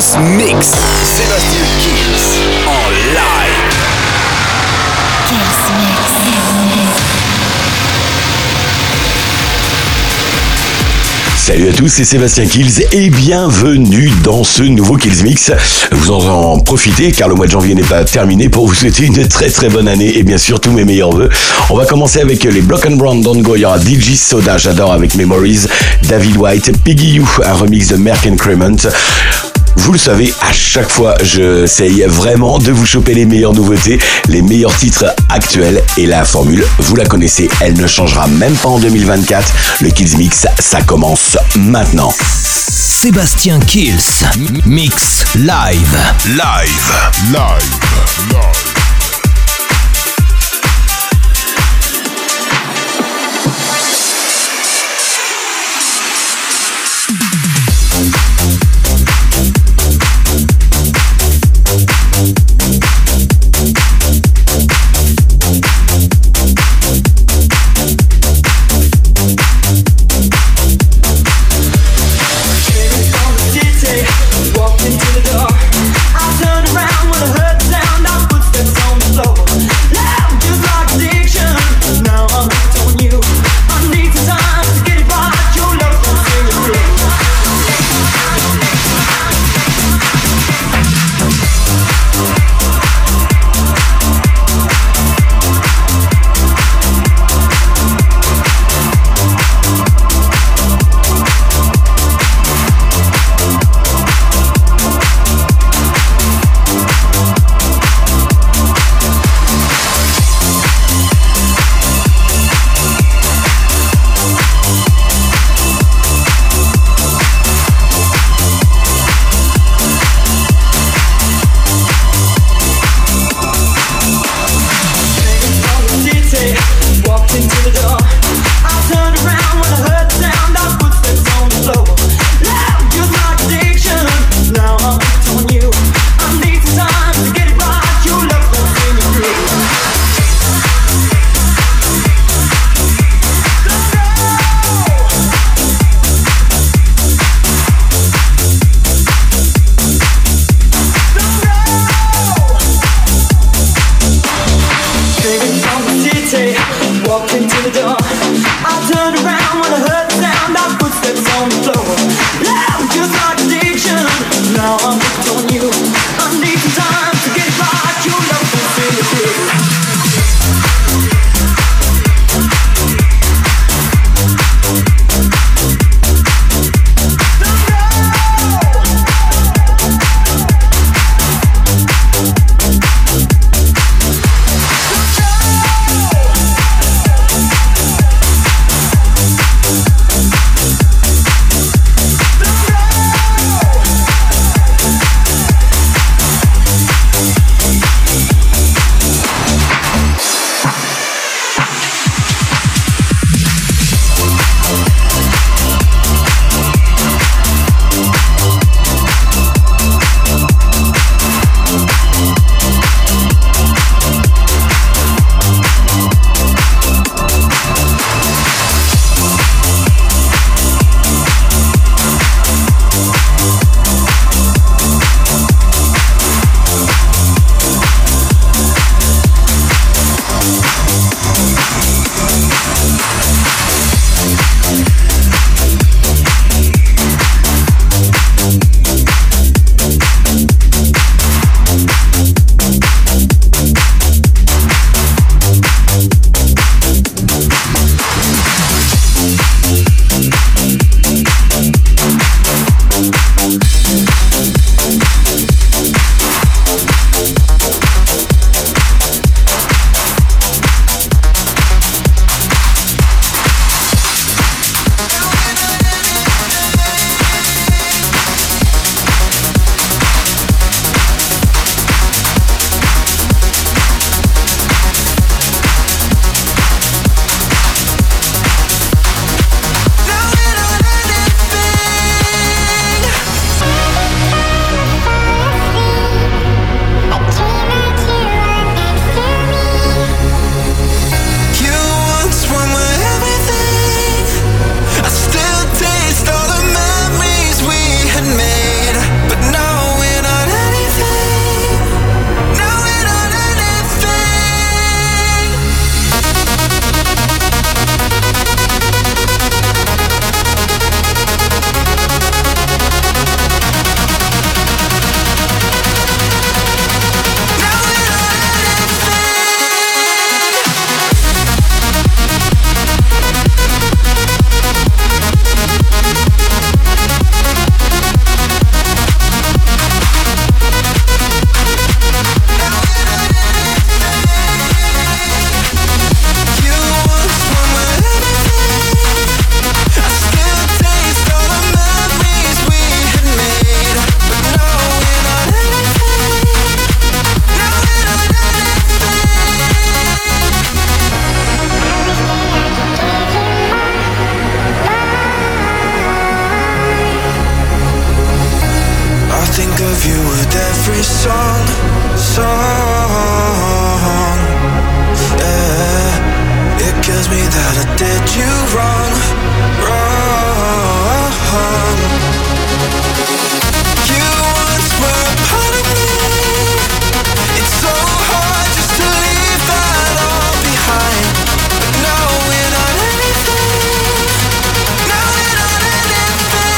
Kills Mix. Sébastien Kills en live. Kills Mix. Salut à tous, c'est Sébastien Kills et bienvenue dans ce nouveau Kills Mix. Vous en profitez car le mois de janvier n'est pas terminé pour vous souhaiter une très très bonne année et bien sûr tous mes meilleurs vœux. On va commencer avec les Block and Brown Don't Go, il y aura DJ Soda, j'adore avec Memories, David White, Piggy You, un remix de Merck and Crement. Vous le savez, à chaque fois, j'essaye vraiment de vous choper les meilleures nouveautés, les meilleurs titres actuels. Et la formule, vous la connaissez, elle ne changera même pas en 2024. Le Kills Mix, ça commence maintenant. Sébastien Kills Mix Live. think of you with every song. Yeah, it kills me that I did you wrong. You once were a part of me. It's so hard just to leave that all behind. But now we're not anything. Now we're not anything.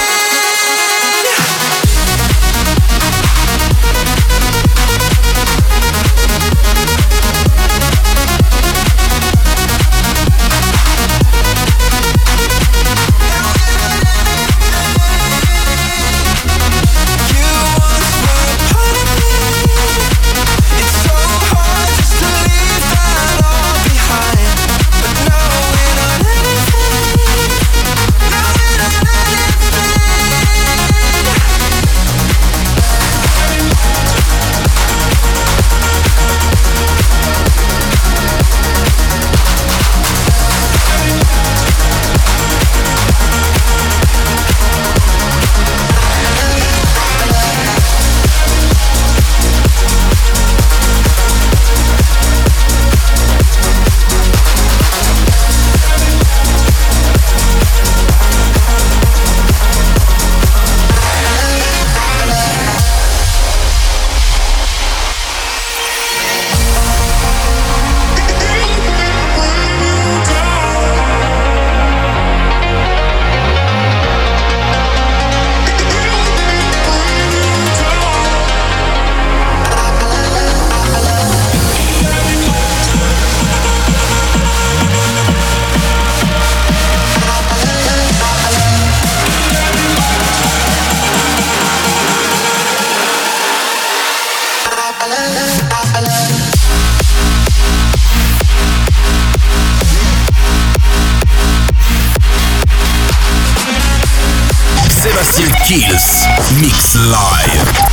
Sébastien Kills Mix Live.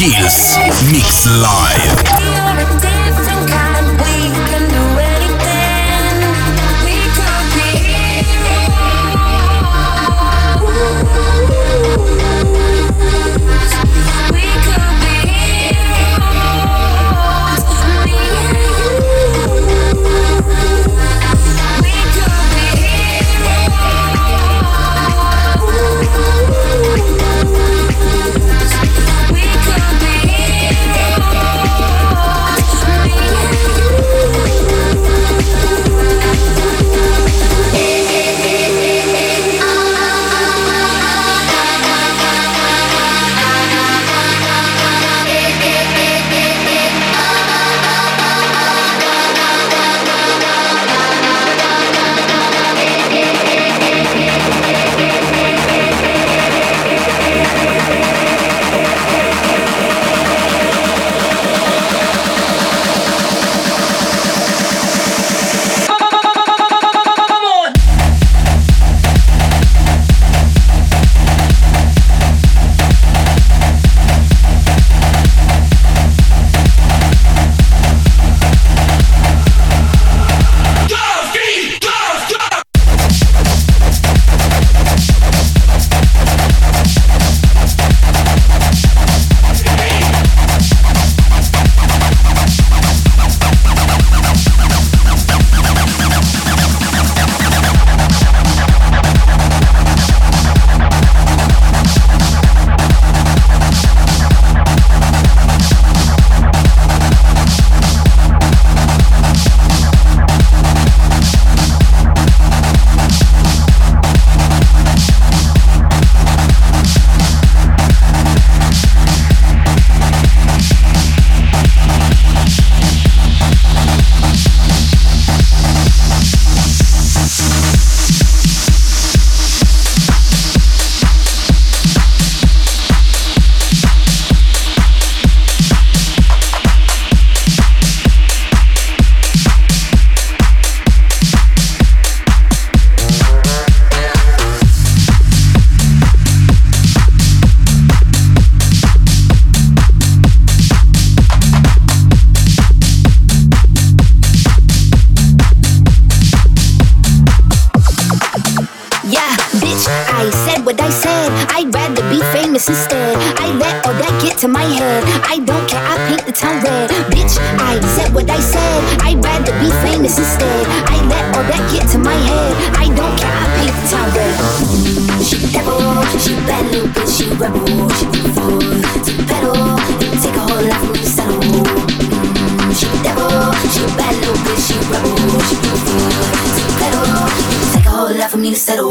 Kills Mix Live. Instead, I let all that get to my head. I don't care, I paint the town red. Bitch, I said what I said. I'd rather be famous instead. I let all that get to my head. I don't care, I paint the town red. She devil, she bad little bitch, she rebel. She can afford to pedal. It'll take a whole lot for me to settle. She devil, she bad little bitch, she rebel. She can afford to pedal. It'll take a whole lot for me to settle.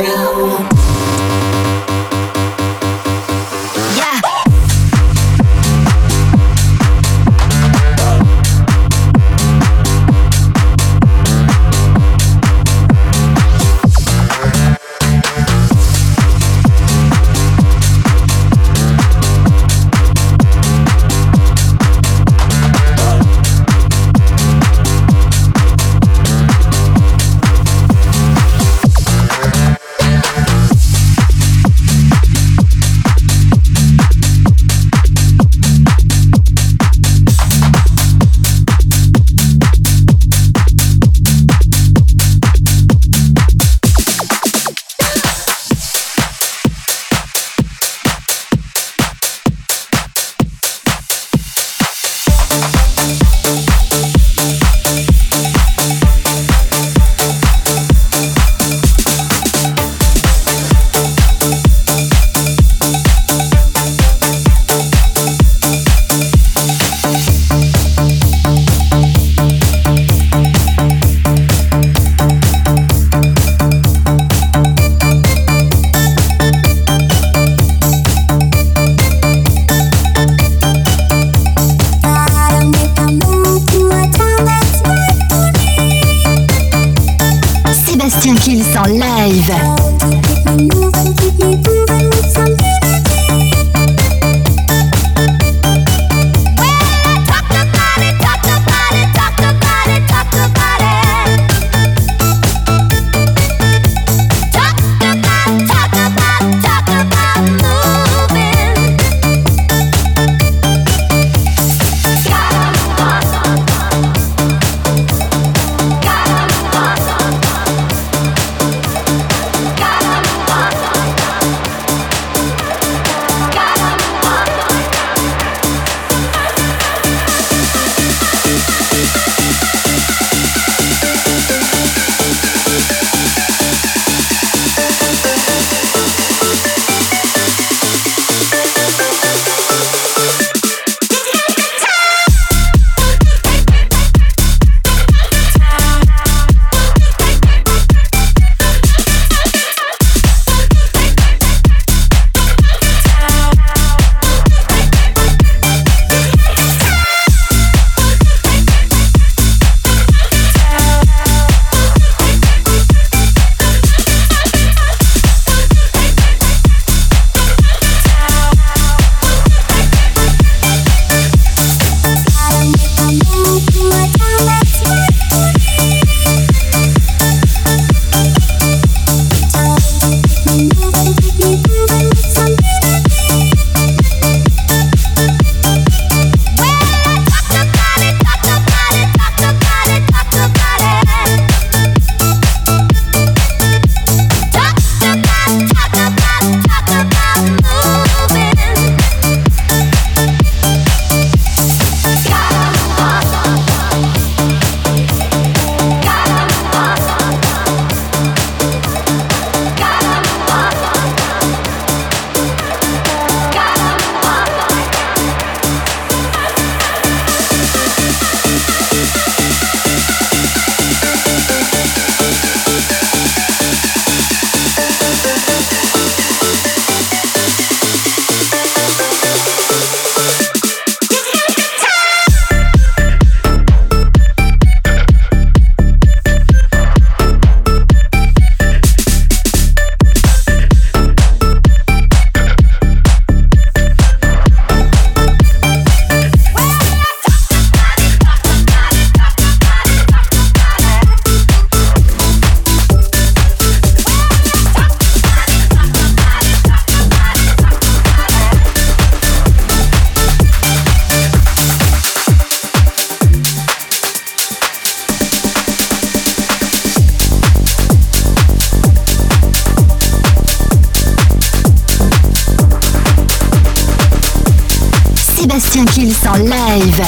Sébastien Kills en live.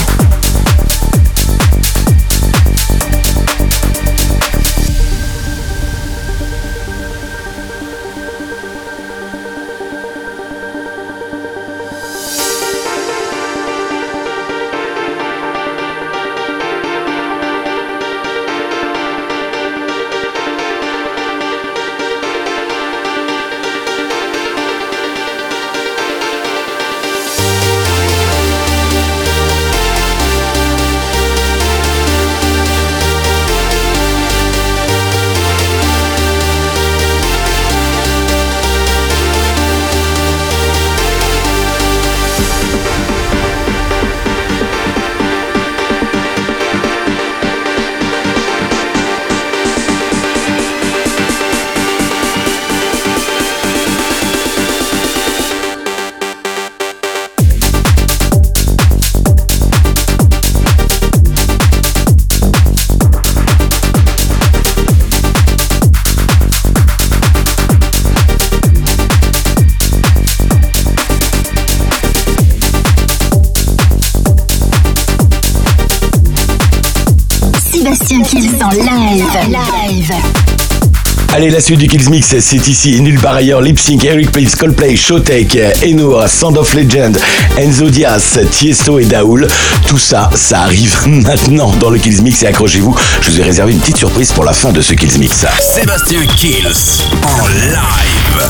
Sébastien Kills en live. Allez, la suite du Kills Mix, c'est ici et nulle part ailleurs. Lip Sync, Eric Prydz, Coldplay, Showtek, Enour, Sound of Legend, Enzo Diaz, Tiesto et Daoul. Tout ça, ça arrive maintenant dans le Kills Mix et accrochez-vous, je vous ai réservé une petite surprise pour la fin de ce Kills Mix. Sébastien Kills en live.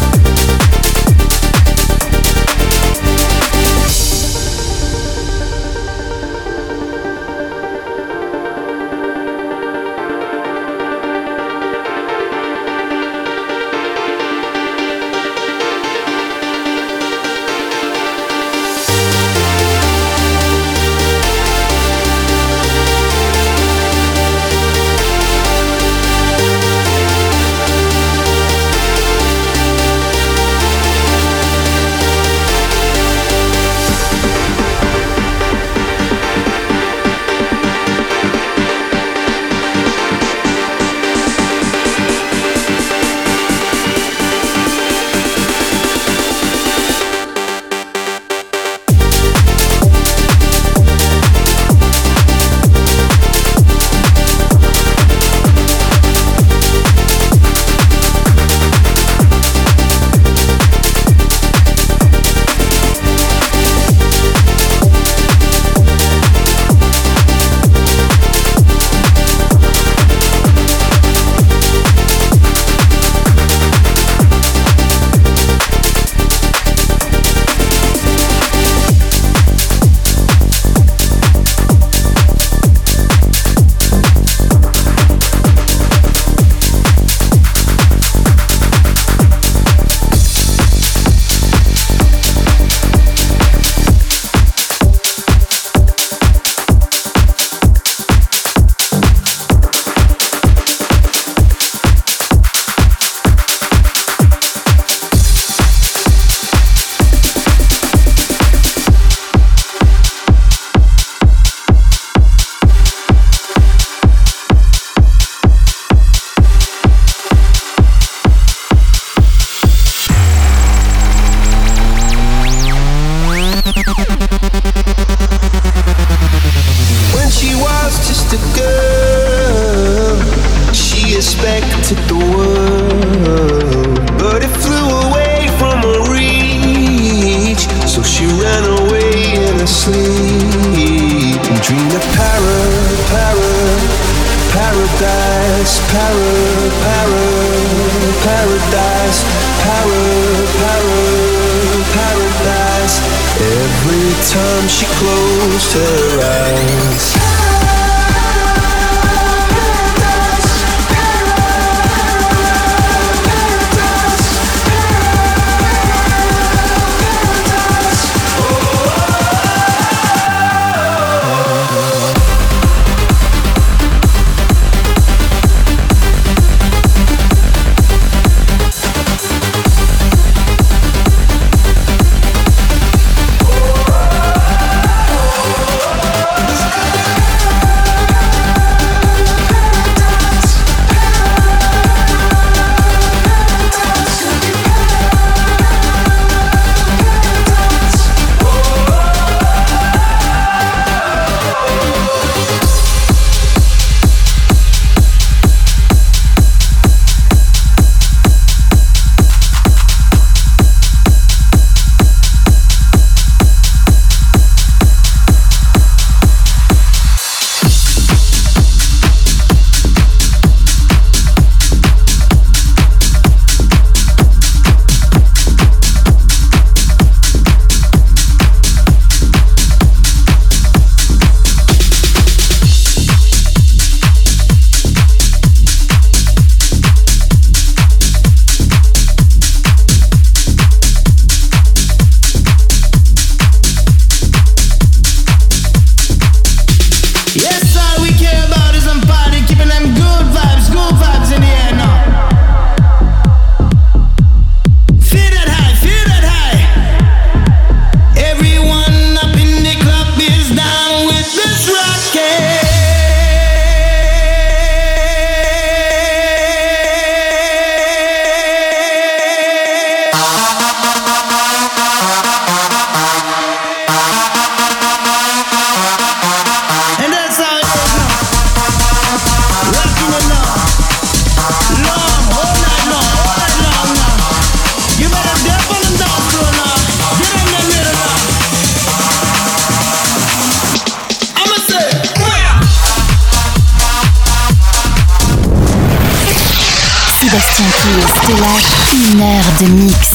Sébastien Kills te lâche 1 heure de mix.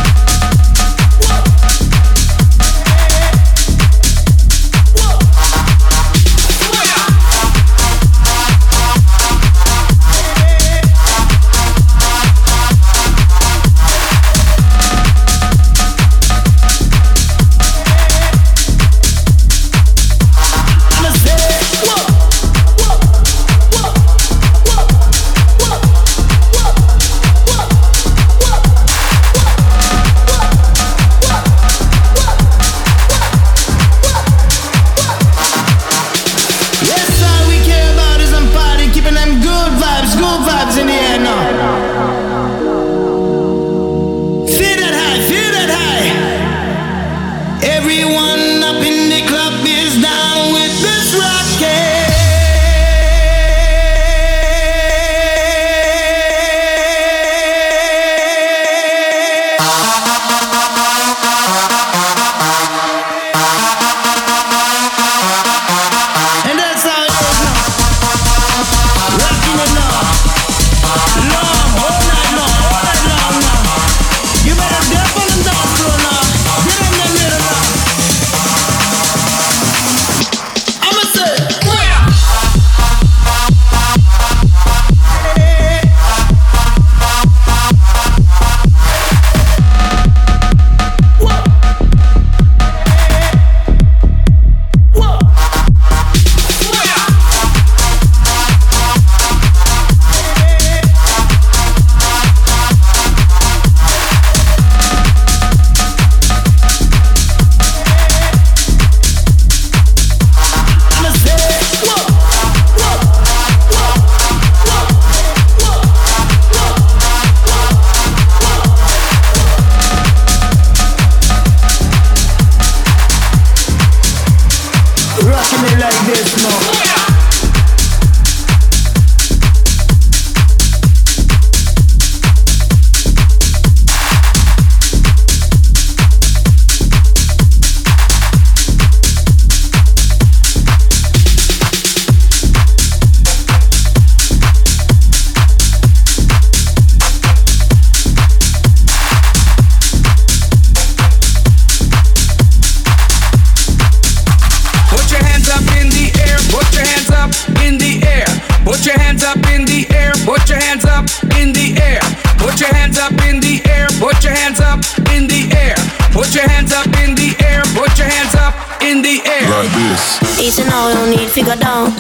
Easy now, no need to go down.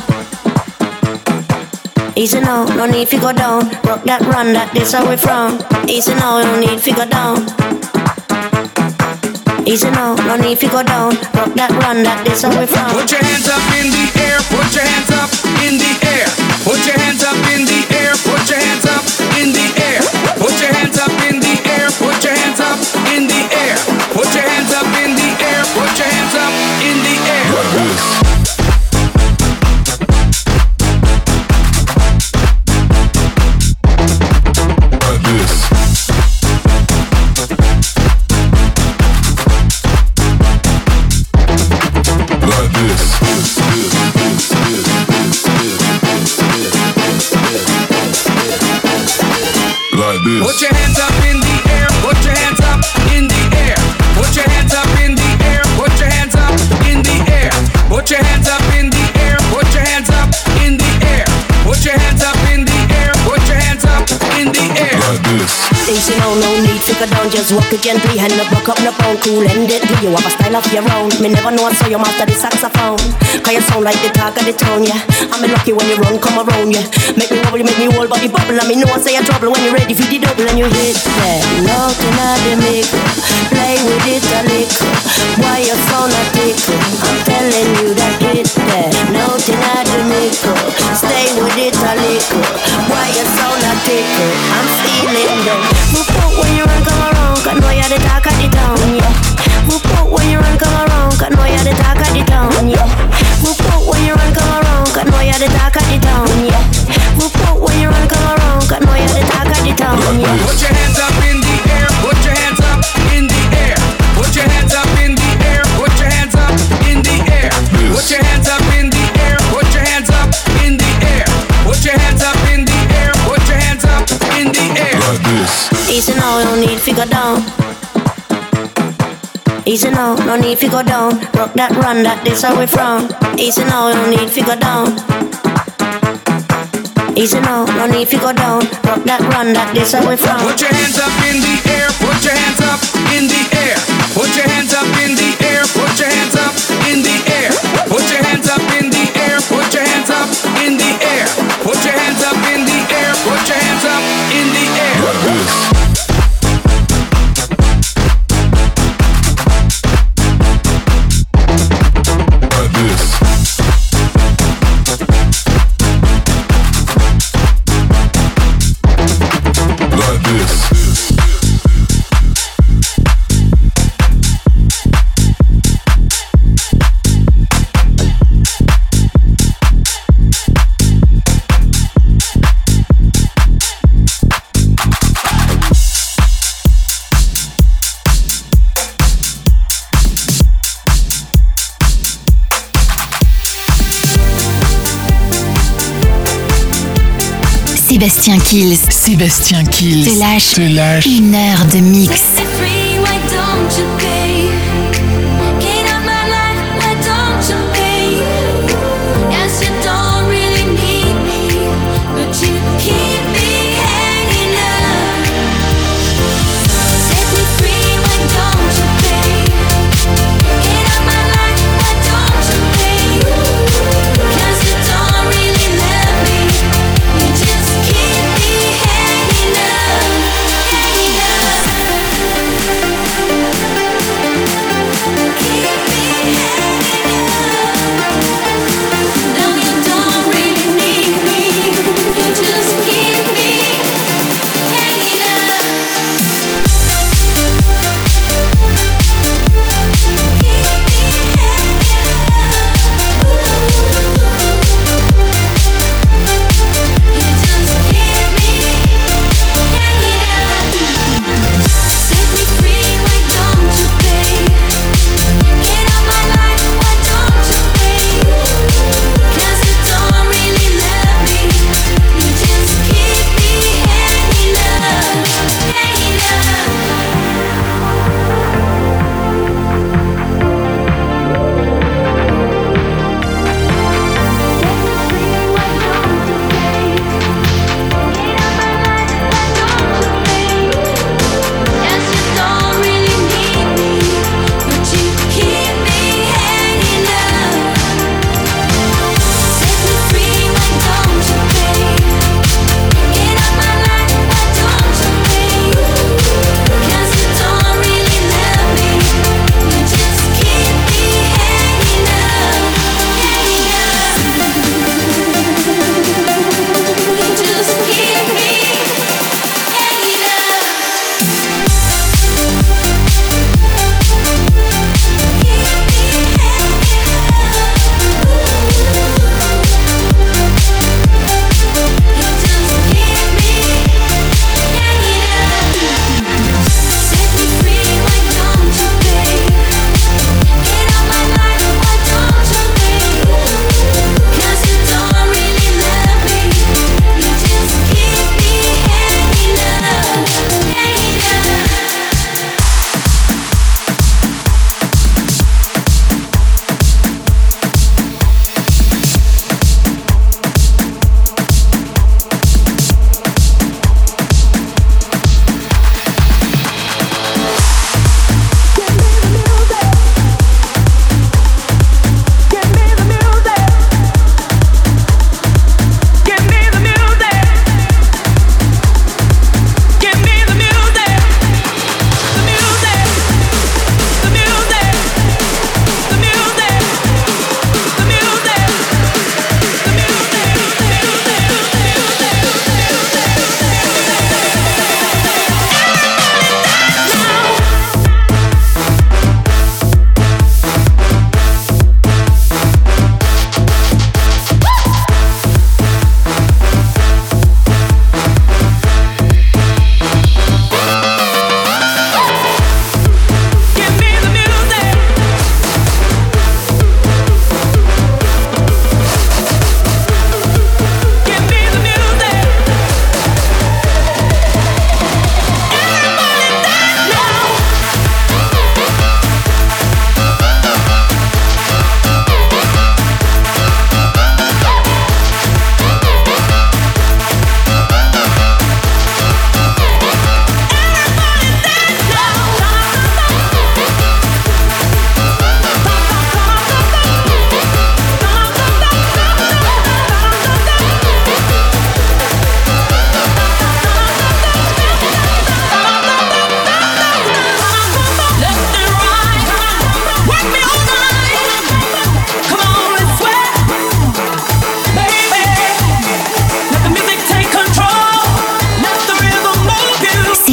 Easy now, no need to go down. Rock that, run that, this how we from. Easy now, no need to go down. Easy now, no need to go down. Rock that, run that, this how we from. Put your hands up in the air, put your hands up in the air. Put your hands up in the air, put your hands up in the air. Put your hands up in the air, put your hands up in the air. Put your hands up in the air, put your hands up in the air. Put your hands up in the air, put your hands up in the air. Put your hands up in the air, put your hands up in the air. Put your hands up in the air, put your hands up in the air. Put your hands up in the air, put your hands up in the air. Like this. Easy now, no need to go down. Just walk it gently, hand up, broke up, no pound. Cool ended, do you have a style of your own? Me never know, so you master the saxophone. Cause you sound like the talk of the town, yeah. I'm lucky when you run, come around, yeah. Make me wobble, make me whole body bubble. And me know I say you're trouble when you're ready for the double. And you hit that, nothing I the make. Play with it a little. Why you sound a tickle? I'm telling you that hit that, nothing I the make. Stay with it a little. Why you sound a tickle? I'm feeling them. Move out when you run, come around. Cause know you're the talk of the town, yeah. Move out when you run, come around. Cause know you're the talk of the town, yeah. Move out when you run, come around. Cause know you're the talk of the town, yeah. Move out when you run, come around. Cause know you're the talk of the town, yeah. Put your hands up in the air, put your hands up in the air. Put your hands up in the air, put your hands up in the air. Put your hands up in the air, put your hands up in the air. Put your hands up in the air, put your hands up in the air. Easy now, no need to go down. Easy now, no need to go down. Rock that, run that, this how we from. Easy now, no need to go down. Easy now, no need to go down. Rock that, run that, this how we from. Put your hands up in the air, put your hands up in the air. Put your hands up in the air, put your hands up in the air. Put your hands up in the air, put your hands up in the air. Put your hands up in the air, put your hands up in the air. Like this. Sébastien Kills. Sébastien Kills. Te lâche 1 heure de mix.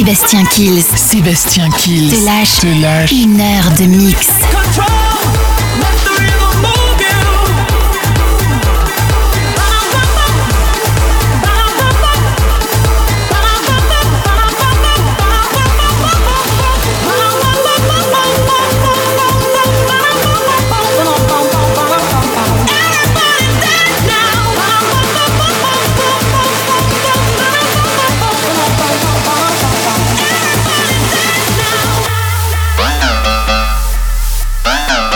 Sébastien Kills Sébastien Kills te lâche te lâche 1 heure de mix. Now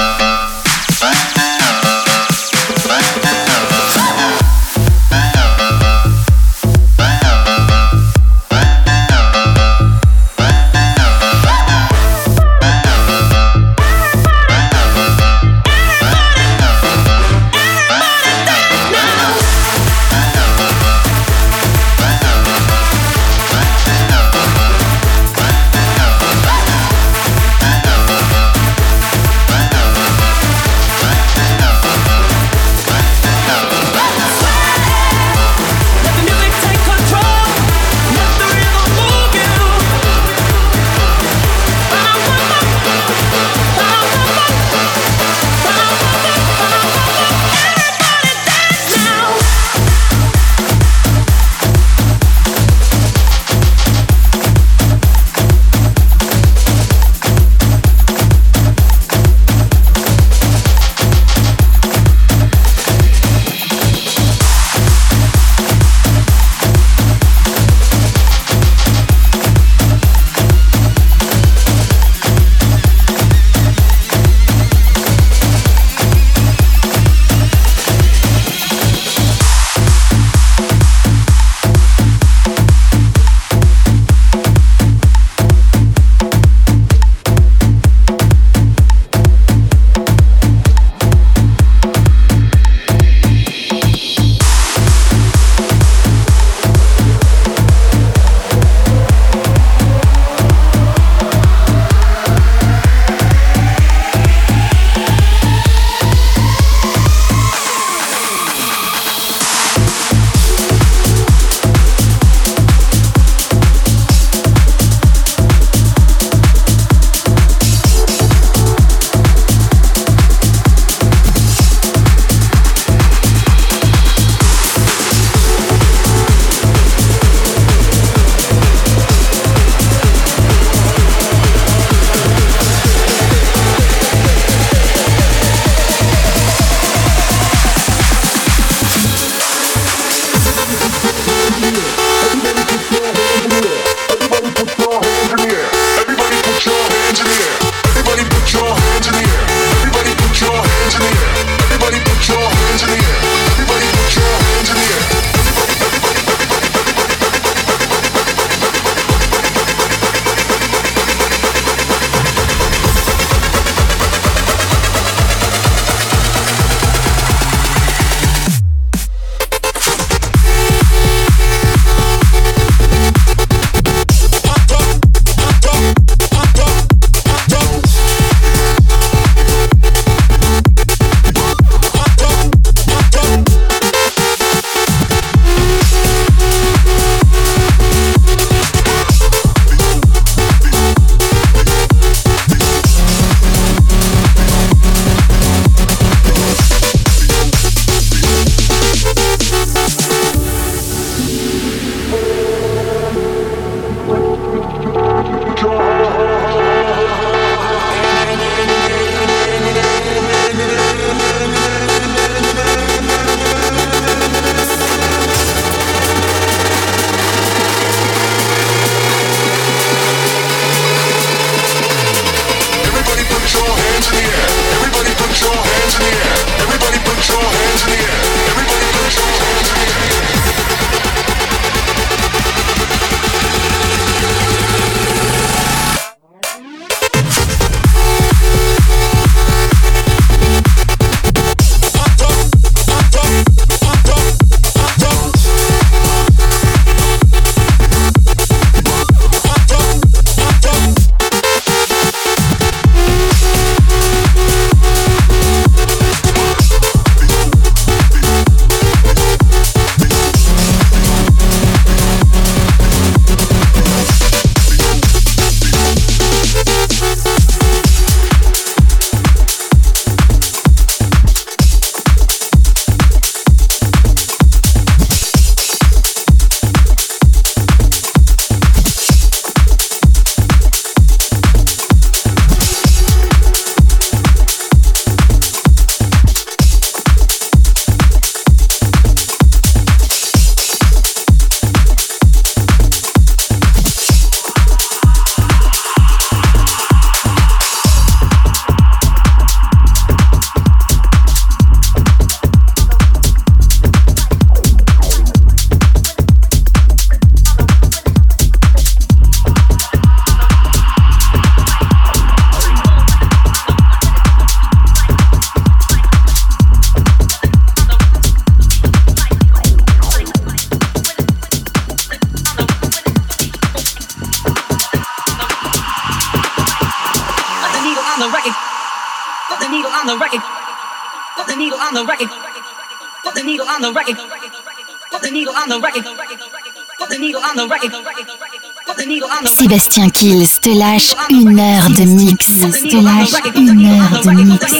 on the record. Put the needle on the record. Put the needle on the record. Put the needle on the record. Put the needle on the record. Put the needle on the record. Sébastien Kills te lâche 1 heure de mix. Te lâche 1 heure de mix.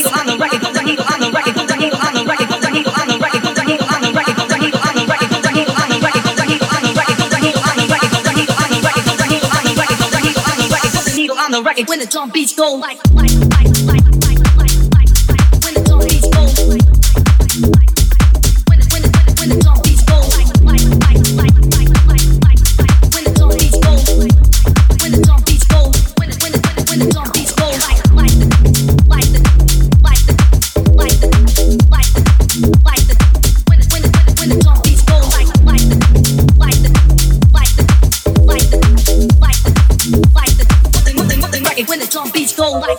When the drum beats go like when the drum beats go like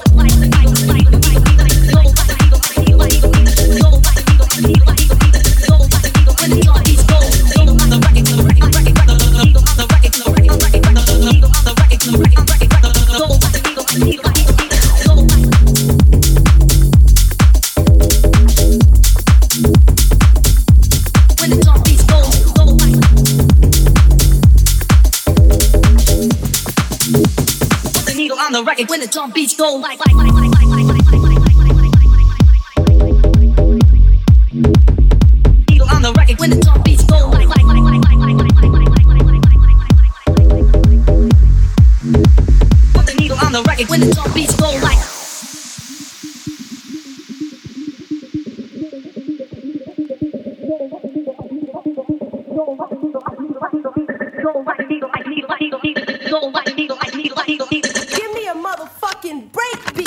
when the drum beats go like needle on the record when the drum beats go like put the needle on the record when the drum beats go like give me a motherfucking breakbeat.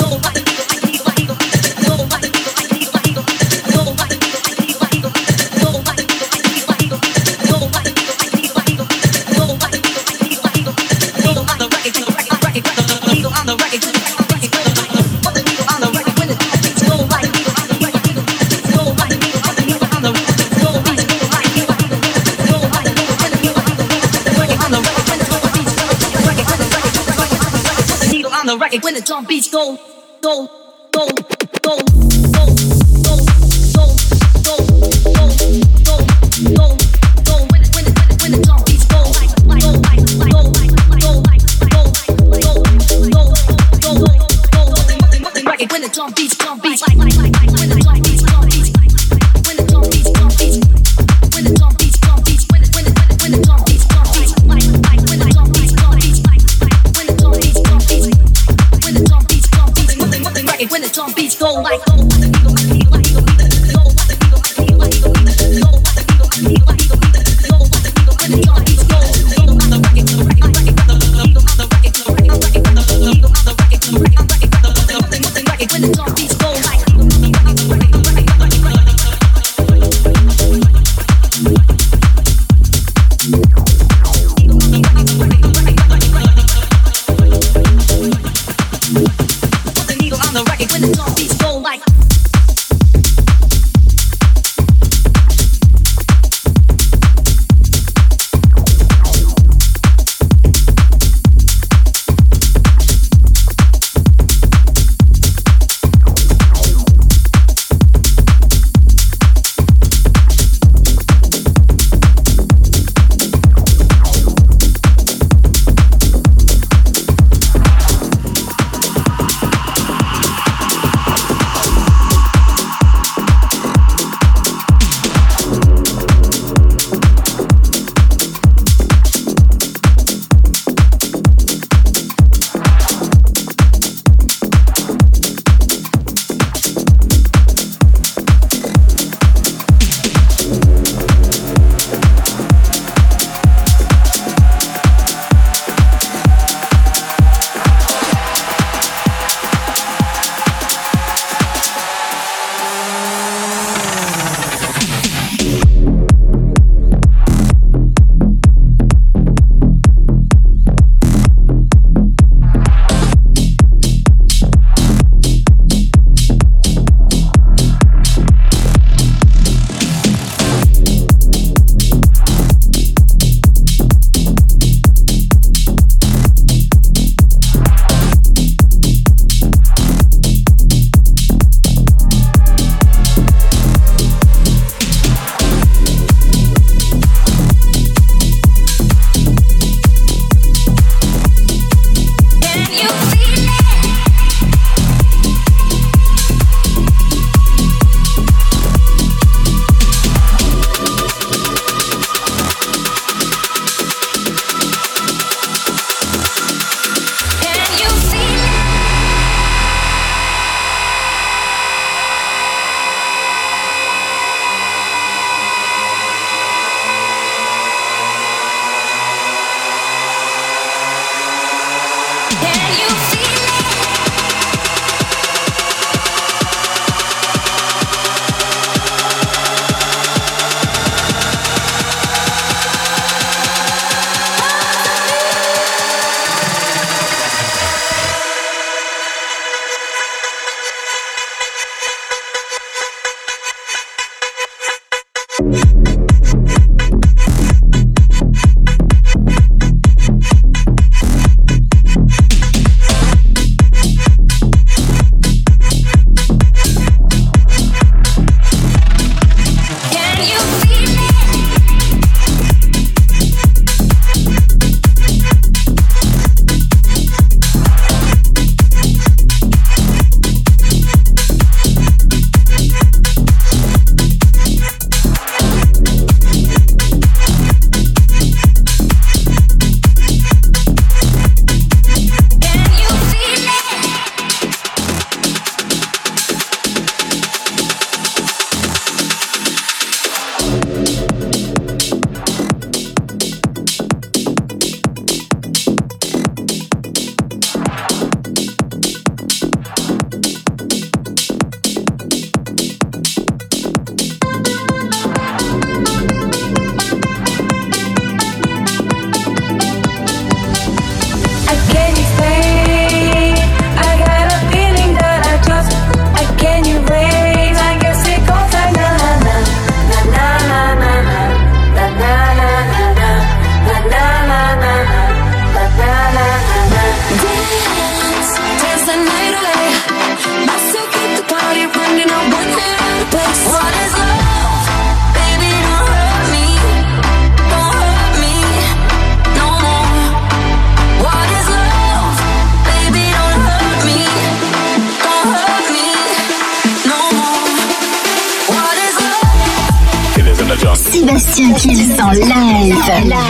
When the drum beats go, go, go, go, go, go, go, go, go, go, go, go. When the drum beats go, like, go, like, go, like, go, like, go, like, go, go, go, go. When the drum beats, like, when the drum beats, when the drum beats, when the drum beats, when the drum beats, when the drum beats, like, when the drum beats, when the drum beats, when the drum beats, when the drum beats go like Sébastien Kills en live.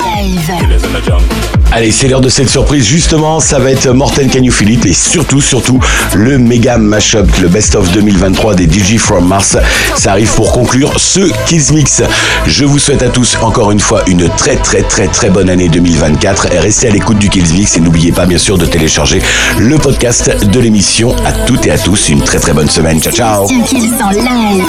Allez, c'est l'heure de cette surprise. Justement, ça va être Morten Can You Feel It et surtout, le méga mashup, le best-of 2023 des DJ from Mars. Ça arrive pour conclure ce Kills Mix. Je vous souhaite à tous, encore une fois, une très bonne année 2024. Et restez à l'écoute du Kills Mix et n'oubliez pas, bien sûr, de télécharger le podcast de l'émission. À toutes et à tous, une très bonne semaine. Ciao, ciao. Sébastien Kills en live.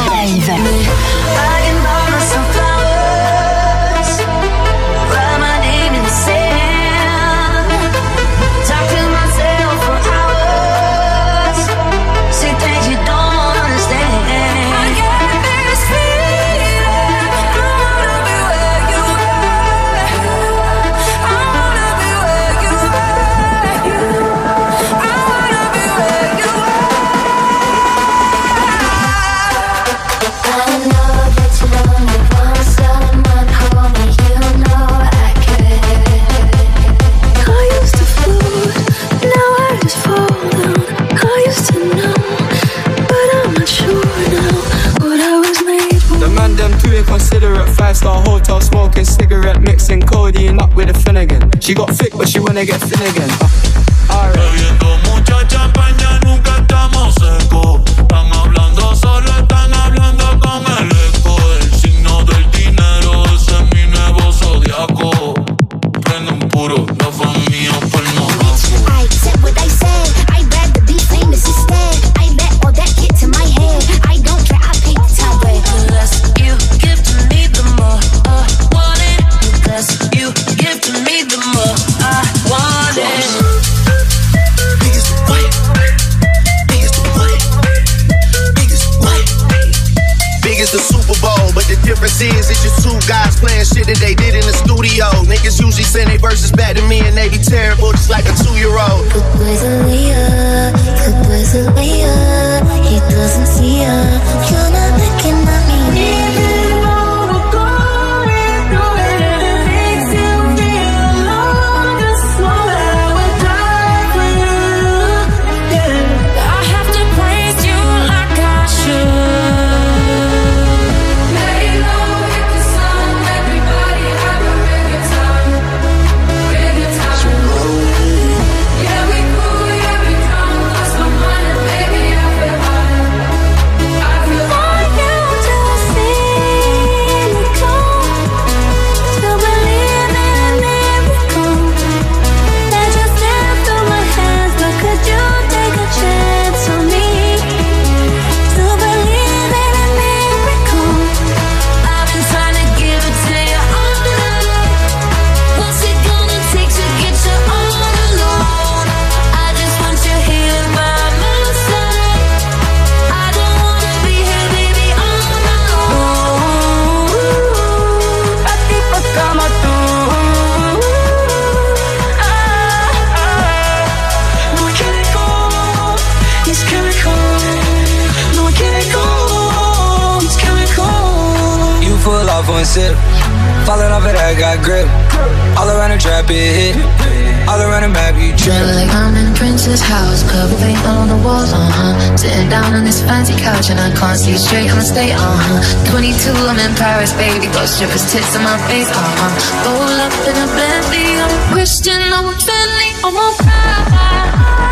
Considerate 5-star hotel, smoking cigarette, mixing codeine up with a Finnegan. She got thick, but she wanna get Finnegan. Alright. Bebiendo mucha champaña, nunca estamos secos. Están hablando, solo están hablando con el eco. El signo del dinero, ese es mi nuevo zodiaco. Prenden puro, la familia por no I said what I said. I'd rather be famous instead. I let all that get to my head. I don't care, I paint the town red. You give to me the more I want it. You give to me the more I want it. Biggest what? Biggest what? Biggest what? Big as the Super Bowl, but the difference is it's just two guys playing shit that they did in the studio. Niggas usually send their verses back to me and they be terrible, just like a 2-year-old. Good boys are Leah, good boys are Leah. He doesn't see her. You're not looking at me. Falling off it, I got grip. All around the trap, it hit. All around the map, you trip. Feel like I'm in Prince's house, covered paint on the walls, Sitting down on this fancy couch and I can't see straight, I'ma stay, 22, I'm in Paris, baby. Got strippers' tits on my face, Roll up in a Bentley, I'm a Christian, I'm a Bentley, I'm a pride.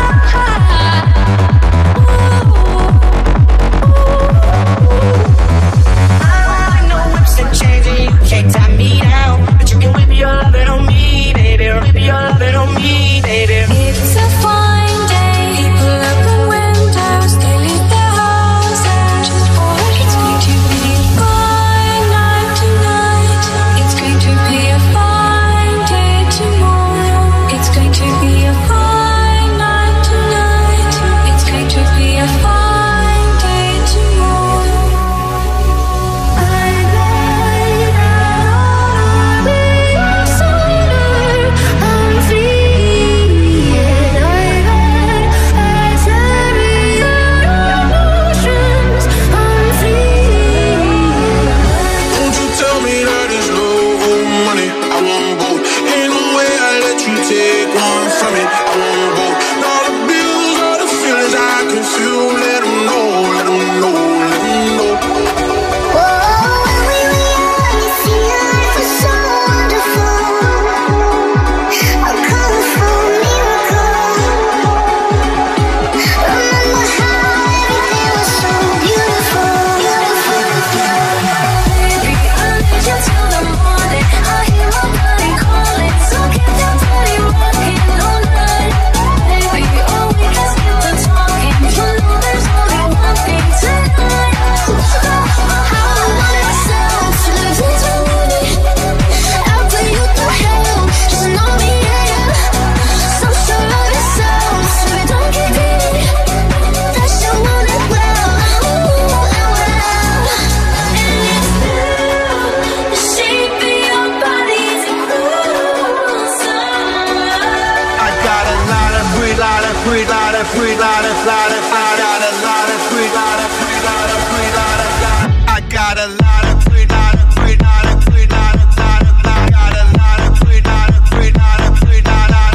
Can't tie me down, but you can whip your lovin' on me, baby. Whip your lovin' on me, baby. It's a fine day. People open windows, they leave their houses. It's going to be a fine night tonight. It's going to be a fine day tomorrow. It's going to be a fine night. free, lot of free, lot of lot of I got a lot of free, lot of free, lot of free, lot of I got a lot of free, lot of free, lot of free, lot of I got a lot of free, lot of free, lot of free, lot of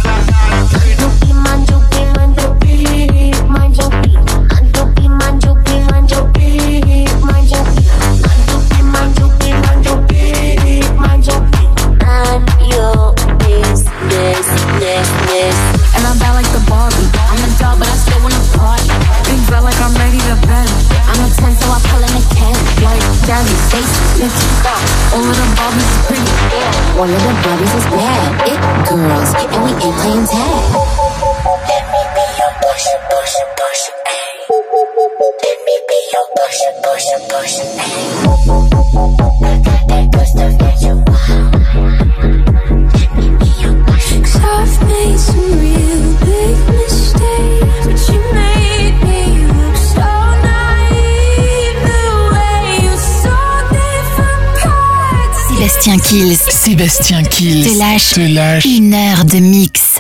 And I'm bad like the Barbie. I'm a doll, but I still wanna party. Big feel like I'm ready to bend. I'm a 10, so I pull in a 10. Like Daddy, Stacy, Nikki, all of the Barbies is pretty. All of the Barbies is bad. It girls, and we ain't playing tag. Let me be your Porsche, Porsche, Porsche, ayy. Let me be your Porsche, Porsche, Porsche, ayy. I got that good stuff that you want. Let me be your Porsche. 'Cause I've made some real big mistakes, but you made me look so naive. The way you saw different parts. Sébastien Kills Sébastien Kills te lâche 1 heure de mix.